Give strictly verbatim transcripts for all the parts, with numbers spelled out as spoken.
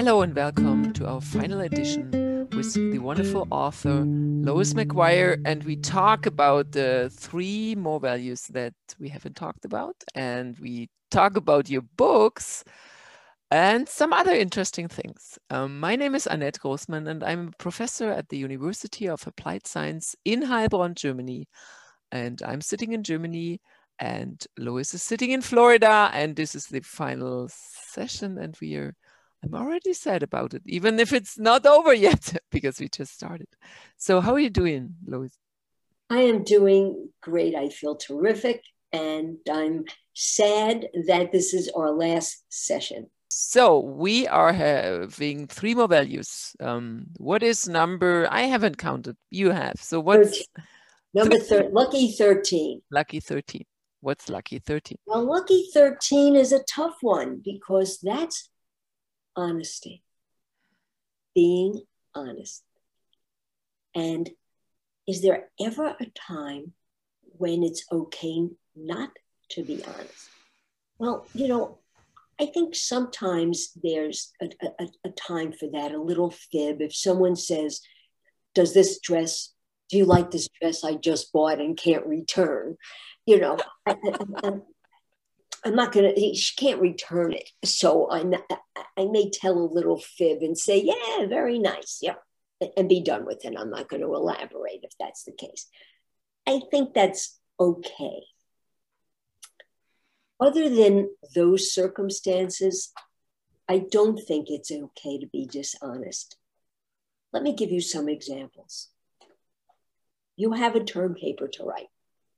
Hello and welcome to our final edition with the wonderful author Lois McGuire, and we talk about the three more values that we haven't talked about, and we talk about your books and some other interesting things. Um, my name is Annette Großmann, and I'm a professor at the University of Applied Science in Heilbronn, Germany. And I'm sitting in Germany, and Lois is sitting in Florida, and this is the final session, and we are I'm already sad about it, even if it's not over yet, because we just started. So how are you doing, Lois? I am doing great. I feel terrific. And I'm sad that this is our last session. So we are having three more values. Um, what is number? I haven't counted. You have. So what's thirteen. Number thirteen? Lucky thirteen. Lucky thirteen. What's lucky thirteen? Well, lucky thirteen is a tough one because that's honesty, being honest. And is there ever a time when it's okay not to be honest? Well, you know, I think sometimes there's a, a, a time for that, a little fib. If someone says, does this dress, do you like this dress I just bought and can't return? You know, I, I, I'm not going to, she can't return it. So I, I may tell a little fib and say, yeah, very nice. Yeah. And be done with it. I'm not going to elaborate if that's the case. I think that's okay. Other than those circumstances, I don't think it's okay to be dishonest. Let me give you some examples. You have a term paper to write,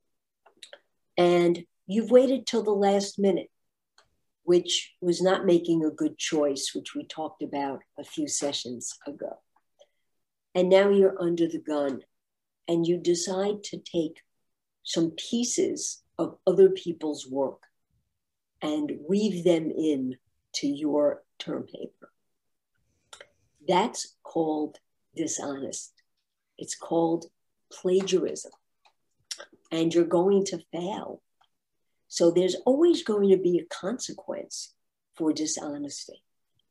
and you've waited till the last minute, which was not making a good choice, which we talked about a few sessions ago. And now you're under the gun, and you decide to take some pieces of other people's work and weave them in to your term paper. That's called dishonest. It's called plagiarism. And you're going to fail. So there's always going to be a consequence for dishonesty.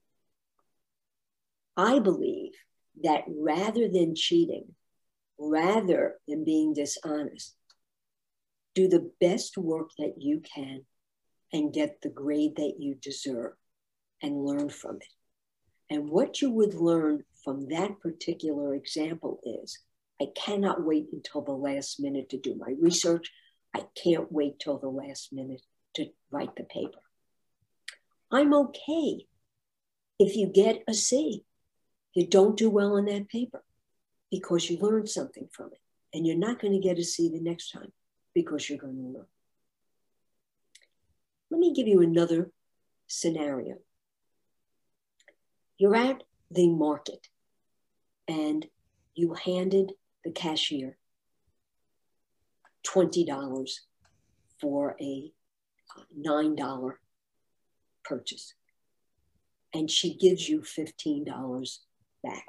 I believe that rather than cheating, rather than being dishonest, do the best work that you can and get the grade that you deserve and learn from it. And what you would learn from that particular example is, I cannot wait until the last minute to do my research. I can't wait till the last minute to write the paper. I'm okay if you get a C. You don't do well on that paper because you learned something from it. And you're not going to get a C the next time because you're going to learn. Let me give you another scenario. You're at the market and you handed the cashier twenty dollars for a nine dollar purchase. And she gives you fifteen dollars back.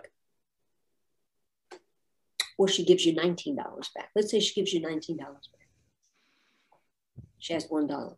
Or she gives you nineteen dollars back. Let's say she gives you nineteen dollars back. She has one dollar.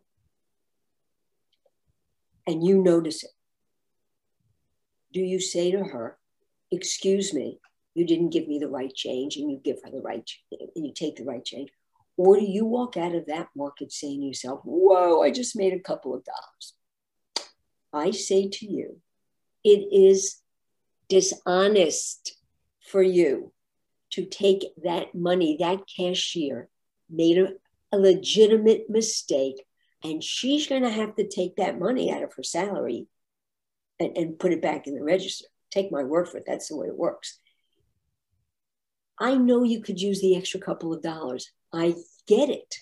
And you notice it. Do you say to her, excuse me, you didn't give me the right change, and you give her the right, and you take the right change? Or do you walk out of that market saying to yourself, whoa, I just made a couple of dollars? I say to you, it is dishonest for you to take that money. That cashier made a, a legitimate mistake, and she's going to have to take that money out of her salary and, and put it back in the register. Take my word for it. That's the way it works. I know you could use the extra couple of dollars. I get it.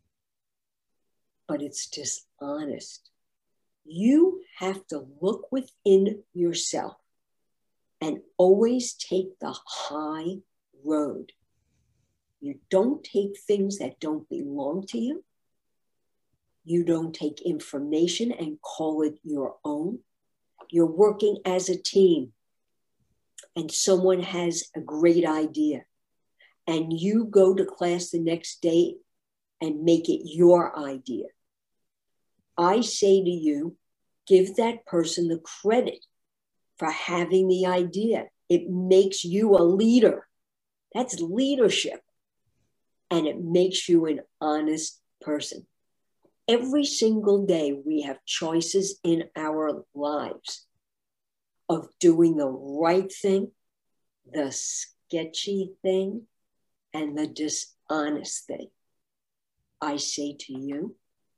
But it's dishonest. You have to look within yourself and always take the high road. You don't take things that don't belong to you. You don't take information and call it your own. You're working as a team, and someone has a great idea, and you go to class the next day and make it your idea. I say to you, give that person the credit for having the idea. It makes you a leader. That's leadership. And it makes you an honest person. Every single day we have choices in our lives of doing the right thing, the sketchy thing, and the dishonest thing. I say to you,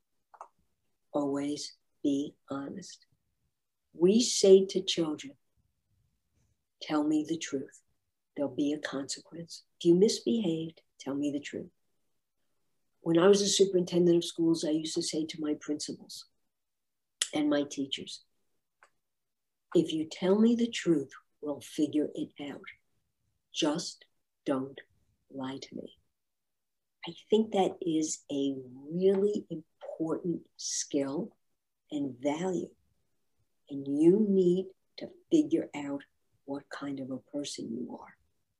always be honest. We say to children, tell me the truth. There'll be a consequence. If you misbehaved, tell me the truth. When I was a superintendent of schools, I used to say to my principals and my teachers, if you tell me the truth, we'll figure it out. Just don't lie to me. I think that is a really important skill and value. And you need to figure out what kind of a person you are.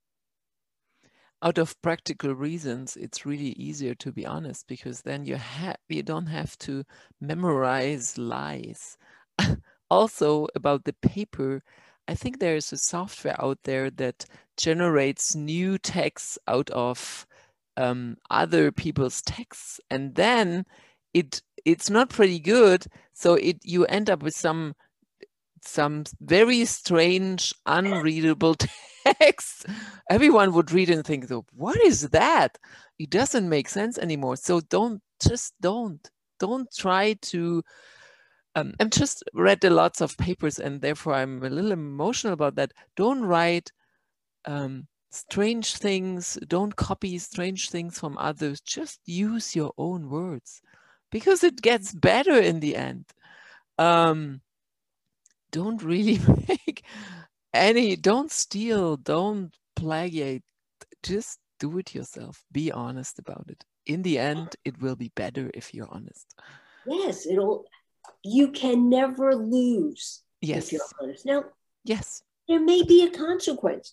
Out of practical reasons, it's really easier to be honest, because then you have you don't have to memorize lies. Also, about the paper, I think there is a software out there that generates new texts out of um, other people's texts, and then it it's not pretty good. So it you end up with some some very strange, unreadable text. Everyone would read and think, what is that? It doesn't make sense anymore. So don't, just don't, don't try to, um, I've just read a lots of papers and therefore I'm a little emotional about that. Don't write um, strange things, don't copy strange things from others, just use your own words because it gets better in the end. Um, don't really make any, don't steal, don't plagiate, just do it yourself. Be honest about it. In the end, it will be better if you're honest. Yes, it'll, you can never lose yes. if you're honest. Now, yes, there may be a consequence.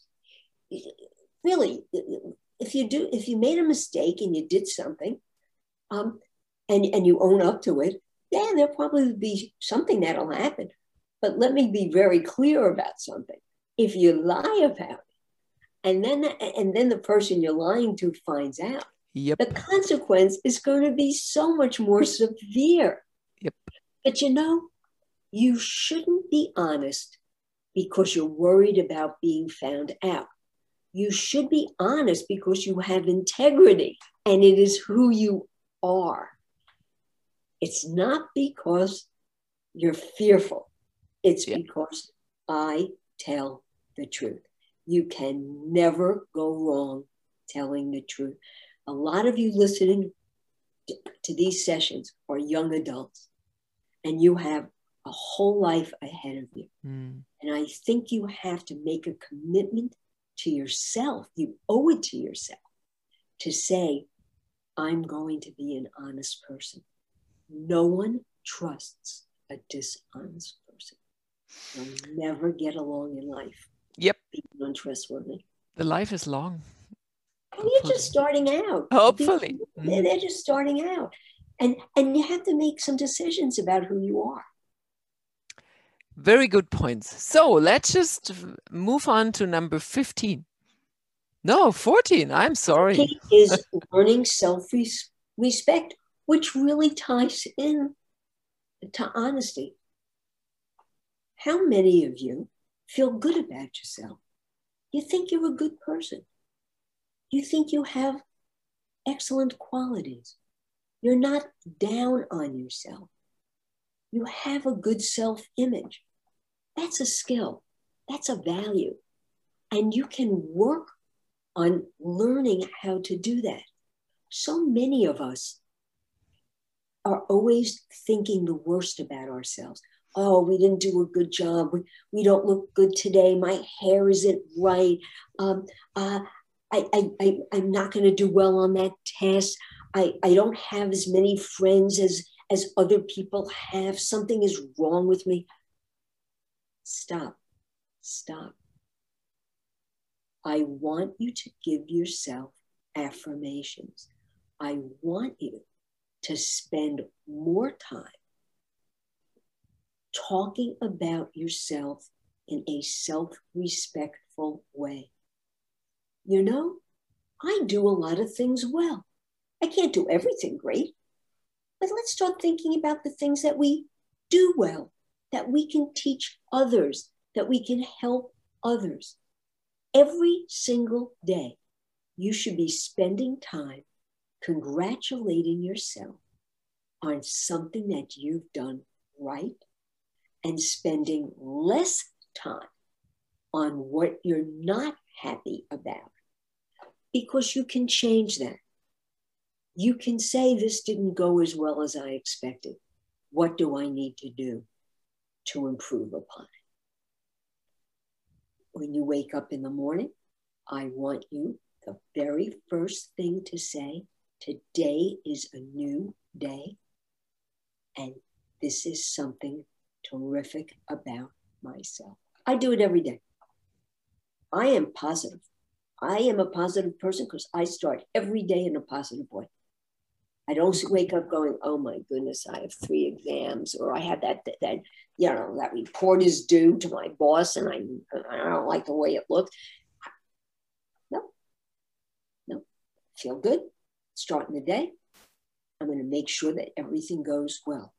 Really, if you do, if you made a mistake and you did something, um, and, and you own up to it, then there'll probably be something that'll happen. But let me be very clear about something. If you lie about it, and then and then the person you're lying to finds out, yep. the consequence is going to be so much more severe. Yep. But you know, you shouldn't be honest because you're worried about being found out. You should be honest because you have integrity and it is who you are. It's not because you're fearful. It's yeah. because I tell the truth. You can never go wrong telling the truth. A lot of you listening to these sessions are young adults, and you have a whole life ahead of you. Mm. And I think you have to make a commitment to yourself. You owe it to yourself to say, I'm going to be an honest person. No one trusts a dishonest person. You'll never get along in life. Yep. Being untrustworthy. The life is long. And you're just starting out. Hopefully. They're, they're just starting out. And, and you have to make some decisions about who you are. Very good points. So let's just move on to number fifteen. No, fourteen. I'm sorry. fourteen is learning self-respect, which really ties in to honesty. How many of you feel good about yourself? You think you're a good person. You think you have excellent qualities. You're not down on yourself. You have a good self-image. That's a skill. That's a value. And you can work on learning how to do that. So many of us are always thinking the worst about ourselves. Oh, we didn't do a good job. We, we don't look good today. My hair isn't right. Um, uh, I, I, I, I'm not going to do well on that test. I, I don't have as many friends as, as other people have. Something is wrong with me. Stop. Stop. I want you to give yourself affirmations. I want you to spend more time talking about yourself in a self-respectful way. You know, I do a lot of things well. I can't do everything great, but let's start thinking about the things that we do well, that we can teach others, that we can help others. Every single day, you should be spending time congratulating yourself on something that you've done right and spending less time on what you're not happy about, because you can change that. You can say, this didn't go as well as I expected. What do I need to do to improve upon it? When you wake up in the morning, I want you, the very first thing to say, today is a new day, and this is something terrific about myself. I do it every day. I am positive. I am a positive person because I start every day in a positive way. I don't wake up going, oh my goodness, I have three exams, or I have that, that, that you know, that report is due to my boss and I, I don't like the way it looks. No, no, feel good. Starting the day, I'm going to make sure that everything goes well.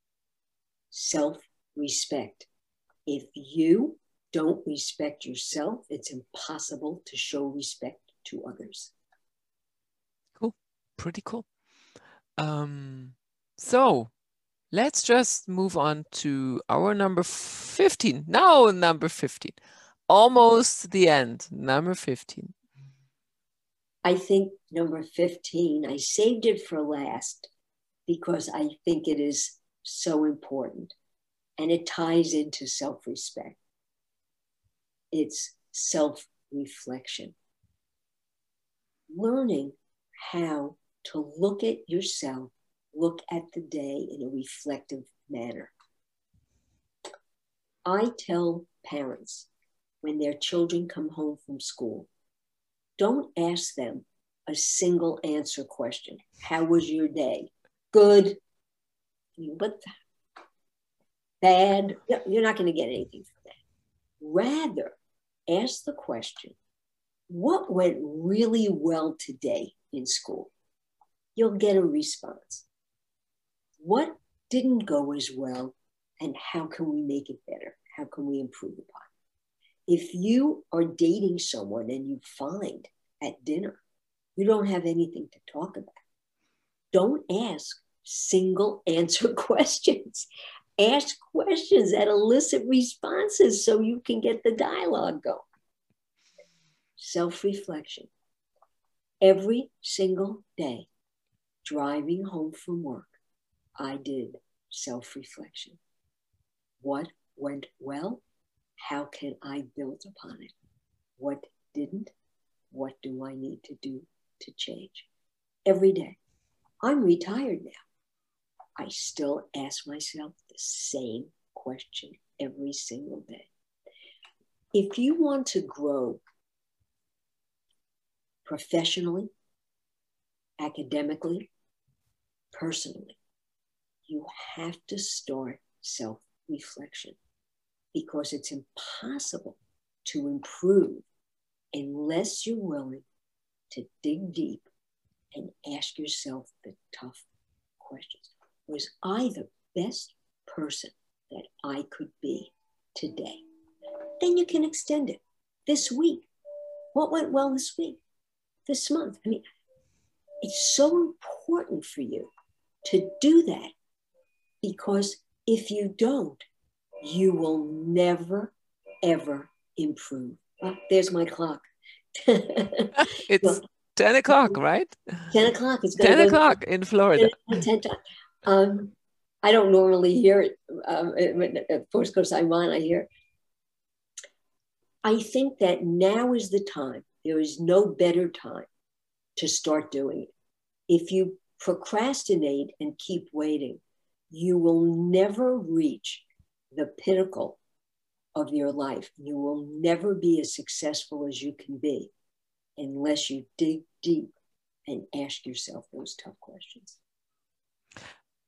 Self-respect. If you don't respect yourself, it's impossible to show respect to others. Cool. Pretty cool. Um, so let's just move on to our number fifteen. Now number fifteen. Almost the end. Number fifteen. I think number fifteen, I saved it for last because I think it is so important and it ties into self-respect. It's self-reflection. Learning how to look at yourself, look at the day in a reflective manner. I tell parents when their children come home from school, don't ask them a single answer question. How was your day? Good. What? Bad. You're not going to get anything from that. Rather, ask the question, what went really well today in school? You'll get a response. What didn't go as well, and how can we make it better? How can we improve upon it? If you are dating someone and you find at dinner you don't have anything to talk about, don't ask single answer questions. Ask questions that elicit responses so you can get the dialogue going. Self-reflection. Every single day, driving home from work, I did self-reflection. What went well? How can I build upon it? What didn't? What do I need to do to change? Every day. I'm retired now. I still ask myself the same question every single day. If you want to grow professionally, academically, personally, you have to start self-reflection, because it's impossible to improve unless you're willing to dig deep and ask yourself the tough questions. Was I the best person that I could be today? Then you can extend it. This week, what went well this week? This month? I mean, it's so important for you to do that, because if you don't, you will never, ever improve. Oh, there's my clock. It's well, ten o'clock, right? ten o'clock. It's ten o'clock in Florida. ten, ten, um, I don't normally hear it, um, of course, because I'm on, I hear. I think that now is the time. There is no better time to start doing it. If you procrastinate and keep waiting, you will never reach the pinnacle of your life. You will never be as successful as you can be unless you dig deep and ask yourself those tough questions.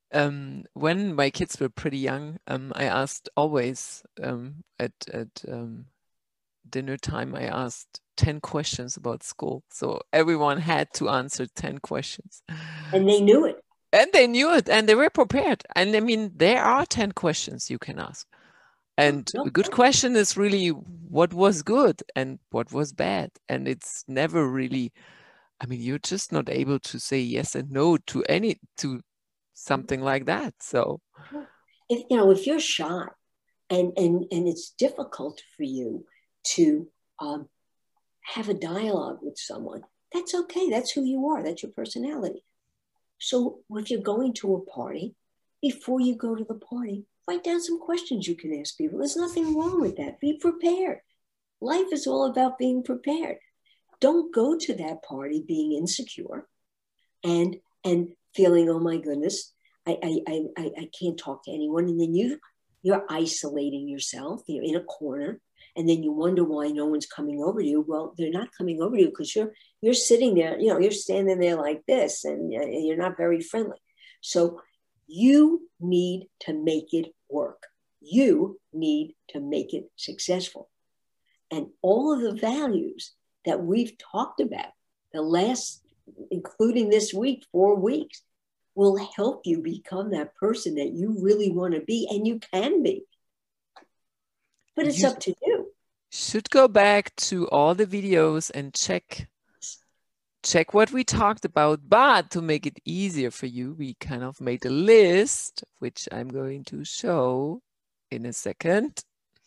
Um, when my kids were pretty young, um, I asked always um, at at um, dinner time, I asked ten questions about school. So everyone had to answer ten questions. And they knew it. And they knew it, and they were prepared. And I mean, there are ten questions you can ask. And Oh, no a good question is really what was good and what was bad. And it's never really, I mean, you're just not able to say yes and no to any, to something like that. So if you know, if you're shy and and and it's difficult for you to um, have a dialogue with someone, that's okay. That's who you are. That's your personality. So if you're going to a party, before you go to the party, write down some questions you can ask people. There's nothing wrong with that. Be prepared. Life is all about being prepared. Don't go to that party being insecure and and feeling, oh my goodness, I I I, I can't talk to anyone. And then you you're isolating yourself. You're in a corner, and then you wonder why no one's coming over to you. Well, they're not coming over to you because you're you're sitting there. You know, you're standing there like this, and you're not very friendly. So you need to make it work. You need to make it successful. And all of the values that we've talked about the last, including this week, four weeks, will help you become that person that you really want to be, and you can be. But it's you up to you. Should go back to all the videos and check check what we talked about. But to make it easier for you, we kind of made a list, which I'm going to show in a second.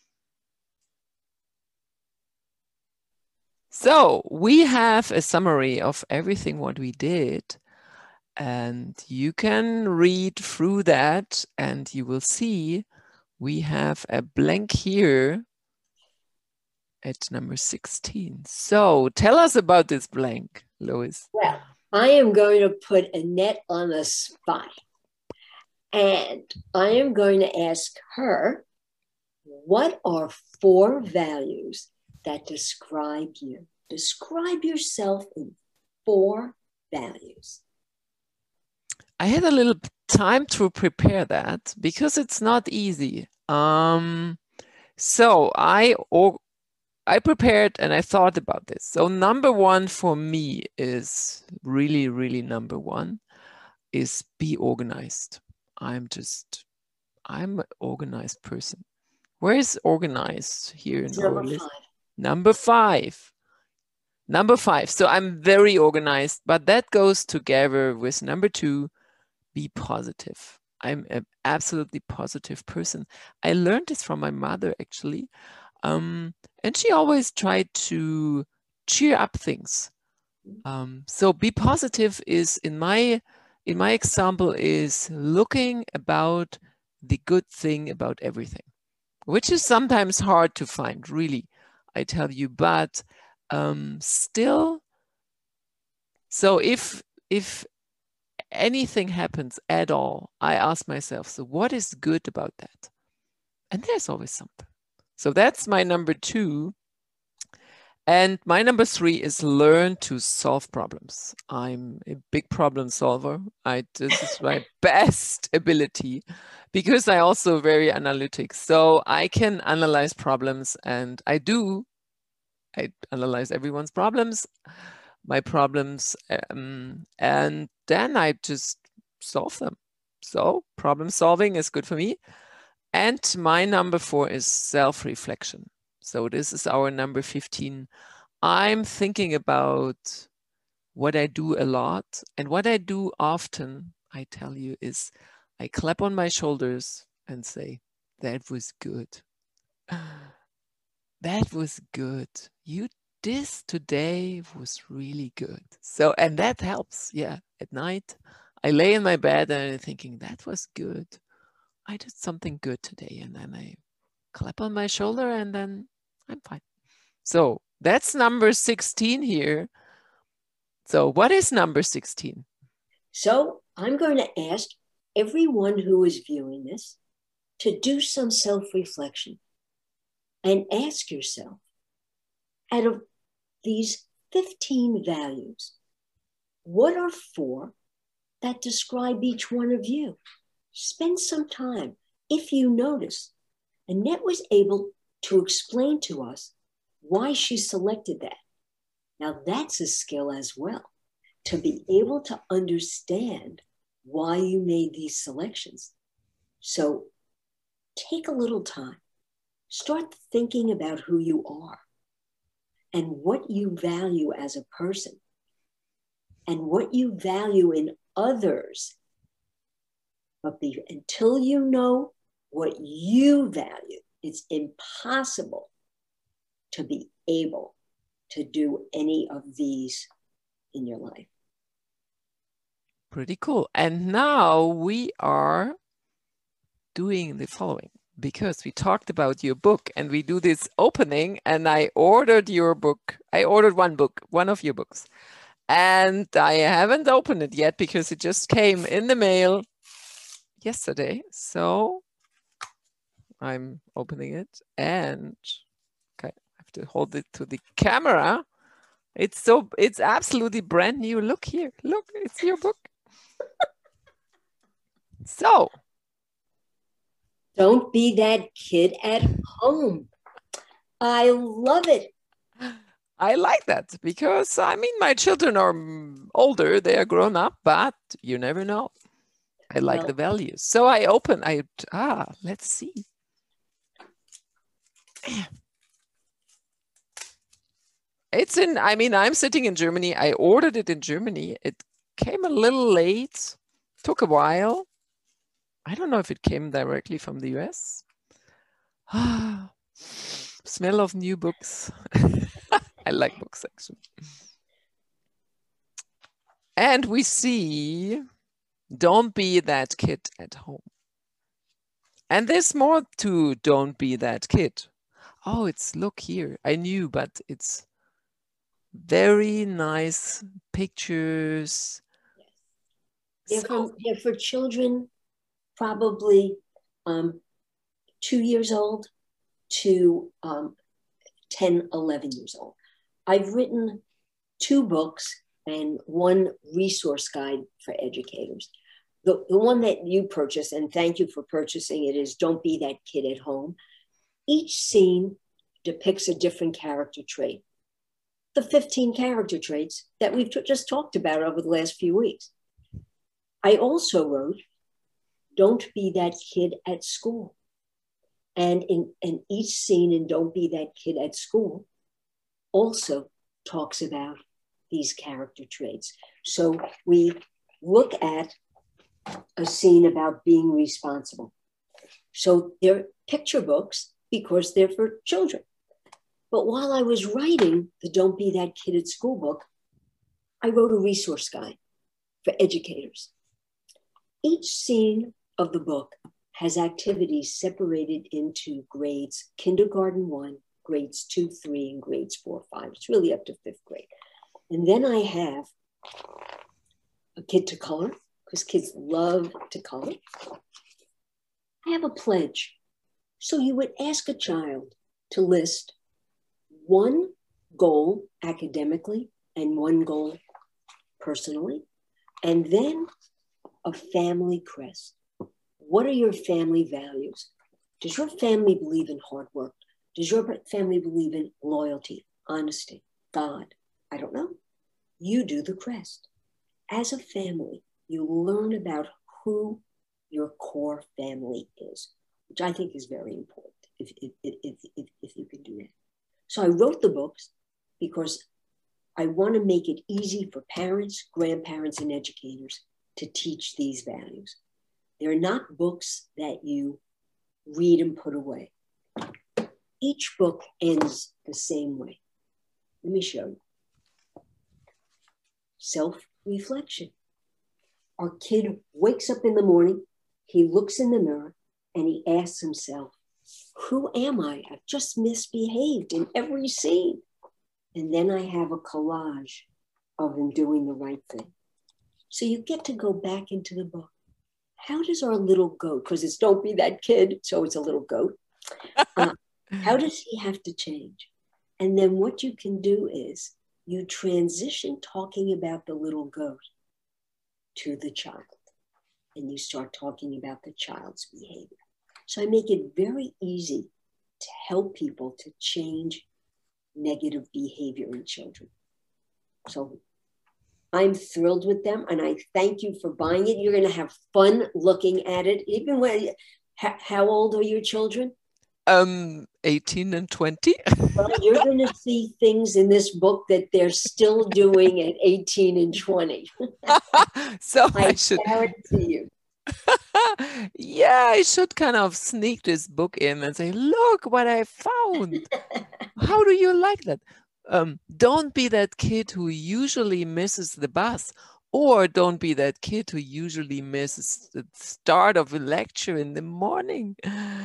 So we have a summary of everything what we did, and you can read through that and you will see we have a blank here at number sixteen. So tell us about this blank, Lois. Well, I am going to put Annette on the spot, and I am going to ask her, what are four values that describe you? Describe yourself in four values. I had a little time to prepare that because it's not easy. Um, so I or I prepared and I thought about this. So number one for me is really, really number one is be organized. I'm just, I'm an organized person. Where is organized here in our list? Number five. Number five. So I'm very organized, but that goes together with number two, be positive. I'm an absolutely positive person. I learned this from my mother, actually. Um, and she always tried to cheer up things. Um, so be positive is in my in my example is looking about the good thing about everything, which is sometimes hard to find, really, I tell you, but um, still. So if if anything happens at all, I ask myself, so what is good about that? And there's always something. So that's my number two. And my number three is learn to solve problems. I'm a big problem solver. I this is my best ability because I also very analytic. So I can analyze problems, and I do. I analyze everyone's problems, my problems, um, and then I just solve them. So problem solving is good for me. And my number four is self-reflection. So this is our number fifteen. I'm thinking about what I do a lot, and what I do often, I tell you, is I clap on my shoulders and say, that was good. That was good. You this today was really good. So, and that helps. Yeah. At night, I lay in my bed and I'm thinking, that was good. I did something good today. And then I clap on my shoulder and then I'm fine. So that's number sixteen here. So what is number sixteen? So I'm going to ask everyone who is viewing this to do some self-reflection and ask yourself, out of these fifteen values, what are four that describe each one of you? spend some time. If you notice, Annette was able to explain to us why she selected that. Now that's a skill as well, to be able to understand why you made these selections. So take a little time, start thinking about who you are and what you value as a person and what you value in others. But be, until you know what you value, it's impossible to be able to do any of these in your life. Pretty cool. And now we are doing the following, because we talked about your book and we do this opening, and I ordered your book. I ordered one book, one of your books, and I haven't opened it yet because it just came in the mail yesterday. So I'm opening it, and okay, I have to hold it to the camera. It's so, it's absolutely brand new. Look here, look, it's your book. So, don't be that kid at home. I love it. I like that because, I mean, my children are older, they are grown up, but you never know. I like well, the values. So I open, I, ah, let's see. It's in, I mean, I'm sitting in Germany. I ordered it in Germany. It came a little late, took a while. I don't know if it came directly from the U S. Ah, smell of new books. I like books, actually. And we see, don't be that kid at home. And there's more to don't be that kid. Oh, it's, look here. I knew, but it's very nice pictures. They're, so, for, they're for children probably um, two years old to um, ten, eleven years old. I've written two books and one resource guide for educators. The, the one that you purchased, and thank you for purchasing it, is Don't Be That Kid at Home. Each scene depicts a different character trait. The fifteen character traits that we've just talked about over the last few weeks. I also wrote Don't Be That Kid at School. And in, in each scene in Don't Be That Kid at School also talks about these character traits. So we look at a scene about being responsible. So they're picture books because they're for children. But while I was writing the Don't Be That Kid at School book, I wrote a resource guide for educators. Each scene of the book has activities separated into grades kindergarten one, grades two, three, and grades four, five. It's really up to fifth grade. And then I have a kid to color, because kids love to color. I have a pledge. So you would ask a child to list one goal academically and one goal personally, and then a family crest. What are your family values? Does your family believe in hard work? Does your family believe in loyalty, honesty, God? I don't know. You do the crest. As a family, you learn about who your core family is, which I think is very important if, if, if, if, if you can do that. So I wrote the books because I want to make it easy for parents, grandparents, and educators to teach these values. They're not books that you read and put away. Each book ends the same way. Let me show you. Self-reflection. Our kid wakes up in the morning, he looks in the mirror, and he asks himself, who am I? I've just misbehaved in every scene. And then I have a collage of him doing the right thing. So you get to go back into the book. How does our little goat, because it's Don't Be That Kid, so it's a little goat, uh, how does he have to change? And then what you can do is you transition talking about the little goat to the child. and you start talking about the child's behavior. So I make it very easy to help people to change negative behavior in children. So I'm thrilled with them, and I thank you for buying it. You're going to have fun looking at it. Even when, how, how old are your children? Um, eighteen and twenty. Well, you're going to see things in this book that they're still doing at eighteen and twenty. So I, I should guarantee you. Yeah, I should kind of sneak this book in and say, look what I found. How do you like that? Um, don't be that kid who usually misses the bus, or don't be that kid who usually misses the start of a lecture in the morning.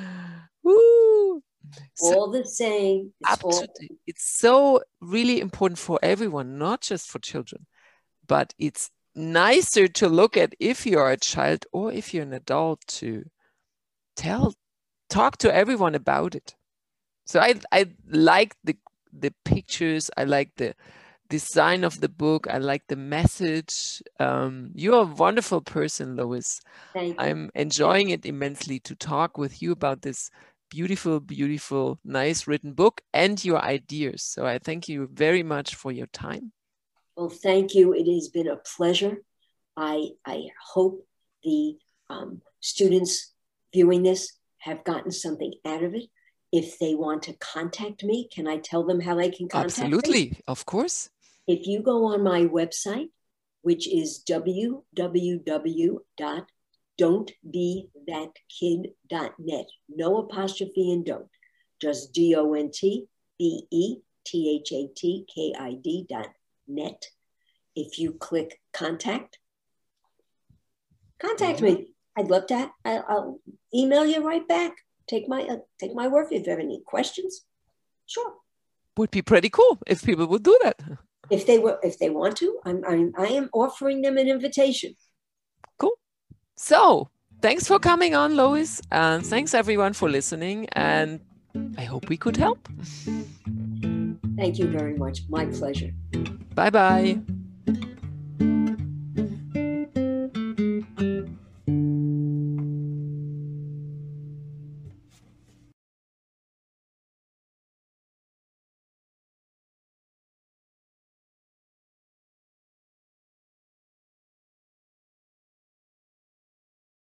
Woo! So, all the same. It's, all... it's so really important for everyone, not just for children, but it's nicer to look at if you're a child or if you're an adult to tell, talk to everyone about it. So I, I like the, the pictures. I like the design of the book. I like the message. Um, you're a wonderful person, Lois. Thank you. I'm enjoying it immensely to talk with you about this beautiful, beautiful, nice written book and your ideas. So I thank you very much for your time. Well, thank you. It has been a pleasure. I, I hope the um, students viewing this have gotten something out of it. If they want to contact me, can I tell them how they can contact Absolutely, me? Of course. If you go on my website, which is w w w dot don't be that kid dot net, no apostrophe in don't, just D O N T B E T H A T K I D dot net. If you click contact, contact mm-hmm. me. I'd love to. I'll, I'll email you right back. Take my uh, take my word. If you have any questions, sure. Would be pretty cool if people would do that. If they were, if they want to, I'm, I'm I am offering them an invitation. Cool. So thanks for coming on, Lois, and thanks everyone for listening. And I hope we could help. Thank you very much. My pleasure. Bye bye.